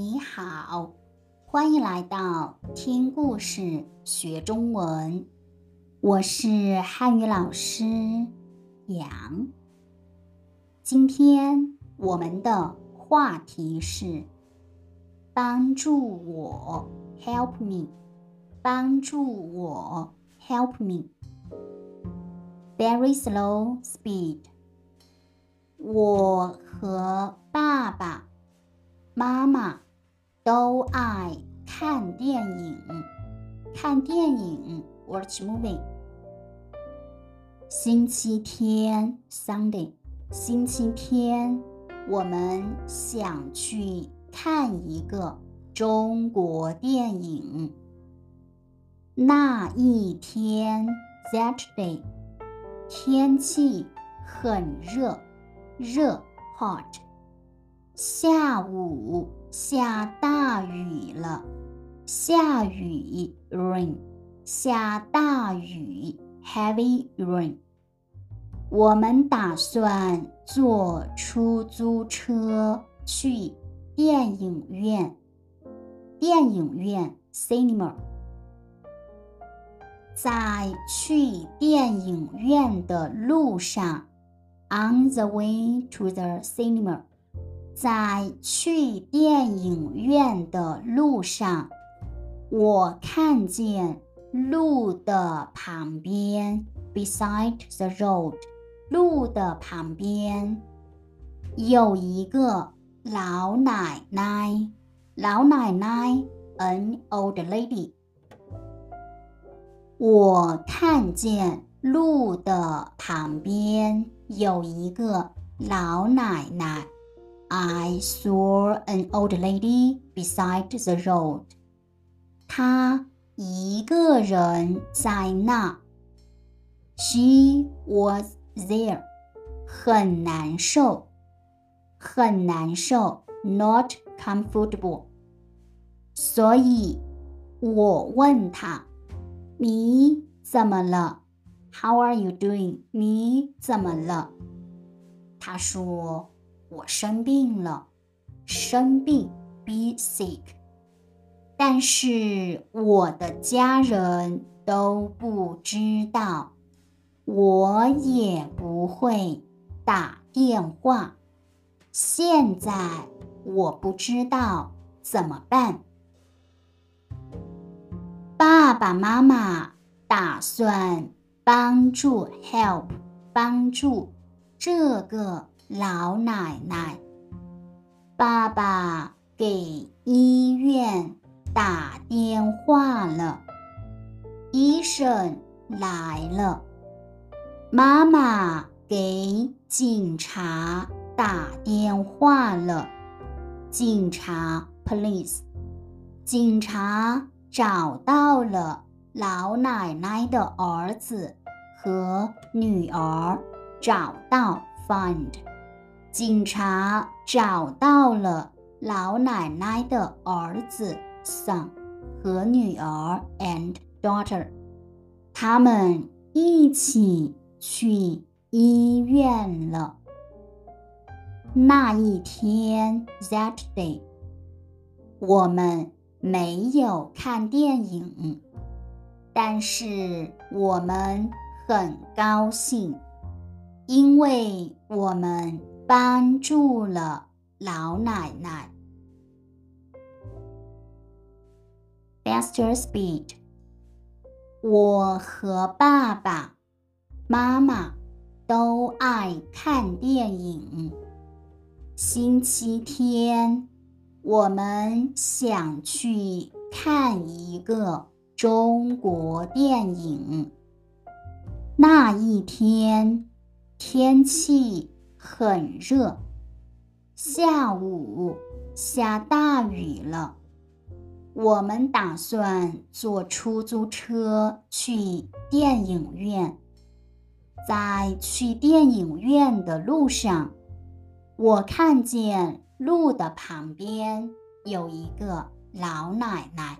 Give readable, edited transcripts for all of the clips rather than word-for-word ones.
你好，欢迎来到听故事学中文。我是汉语老师杨。今天我们的话题是帮助我 help me， 帮助我 help me。 Very slow speed。 我和爸爸妈妈都爱看电影。看电影 watch movie。 星期天 Sunday， 星期天我们想去看一个中国电影。那一天 Saturday， 天气很热 hot。 下午下大雨了，下雨 rain， 下大雨 heavy rain。 我们打算坐出租车去电影院。电影院 cinema。 在去电影院的路上 on the way to the cinema。在去电影院的路上，我看见路的旁边 beside the road， 路的旁边有一个老奶奶 an old lady。 我看见路的旁边有一个老奶奶I saw an old lady beside the road. 她一个人在那。She was there. 很难受，很难受 not comfortable。 所以我问她，你怎么了？ How are you doing？ 你怎么了？她说，我生病了，生病 be sick。 但是我的家人都不知道，我也不会打电话，现在我不知道怎么办。爸爸妈妈打算帮助 help 帮助这个老奶奶。爸爸给医院打电话了，医生来了。妈妈给警察打电话了，警察 police。 警察找到了老奶奶的儿子和女儿，找到 find。警察找到了老奶奶的儿子 son 和女儿 and daughter， 他们一起去医院了。那一天 that day， 我们没有看电影，但是我们很高兴，因为我们帮助了老奶奶。 Faster speed。 我和爸爸妈妈都爱看电影。星期天我们想去看一个中国电影。那一天天气很热，下午下大雨了。我们打算坐出租车去电影院。在去电影院的路上，我看见路的旁边有一个老奶奶，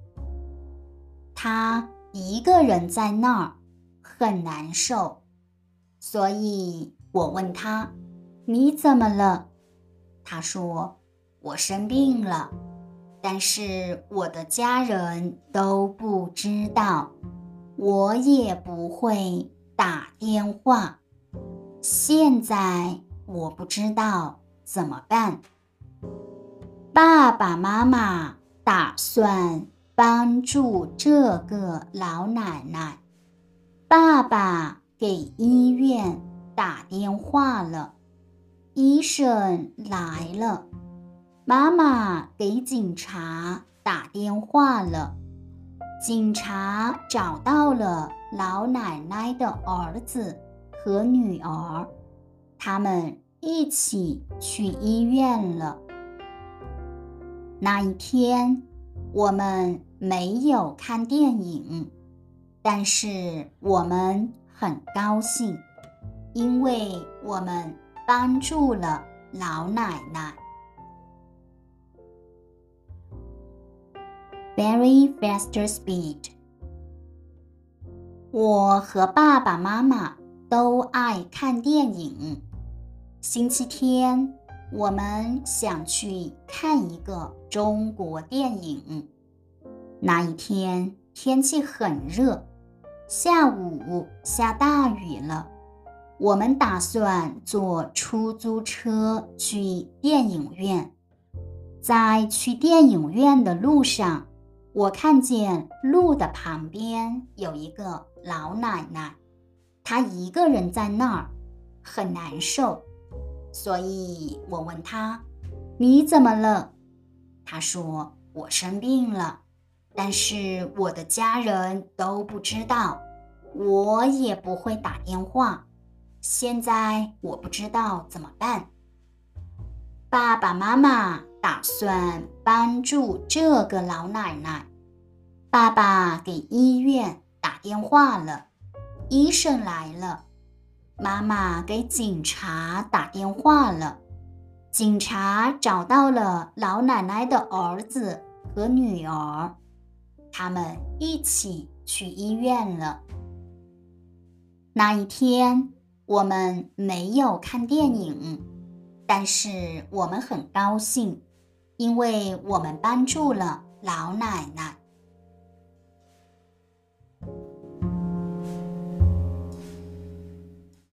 她一个人在那儿，很难受。所以我问她，你怎么了？她说，我生病了， 但是我的家人都不知道，我也不会打电话。现在我不知道怎么办。爸爸妈妈打算帮助这个老奶奶。爸爸给医院打电话了，医生来了。妈妈给警察打电话了，警察找到了老奶奶的儿子和女儿，他们一起去医院了。那一天，我们没有看电影，但是我们很高兴，因为我们帮助了老奶奶。Very faster speed。 我和爸爸妈妈都爱看电影。星期天，我们想去看一个中国电影。那一天天气很热，下午下大雨了。我们打算坐出租车去电影院。在去电影院的路上，我看见路的旁边有一个老奶奶，她一个人在那儿，很难受。所以我问她，你怎么了？她说，我生病了，但是我的家人都不知道，我也不会打电话，现在我不知道怎么办。爸爸妈妈打算帮助这个老奶奶。爸爸给医院打电话了，医生来了。妈妈给警察打电话了，警察找到了老奶奶的儿子和女儿，他们一起去医院了。那一天，我们没有看电影，但是我们很高兴，因为我们帮助了老奶奶。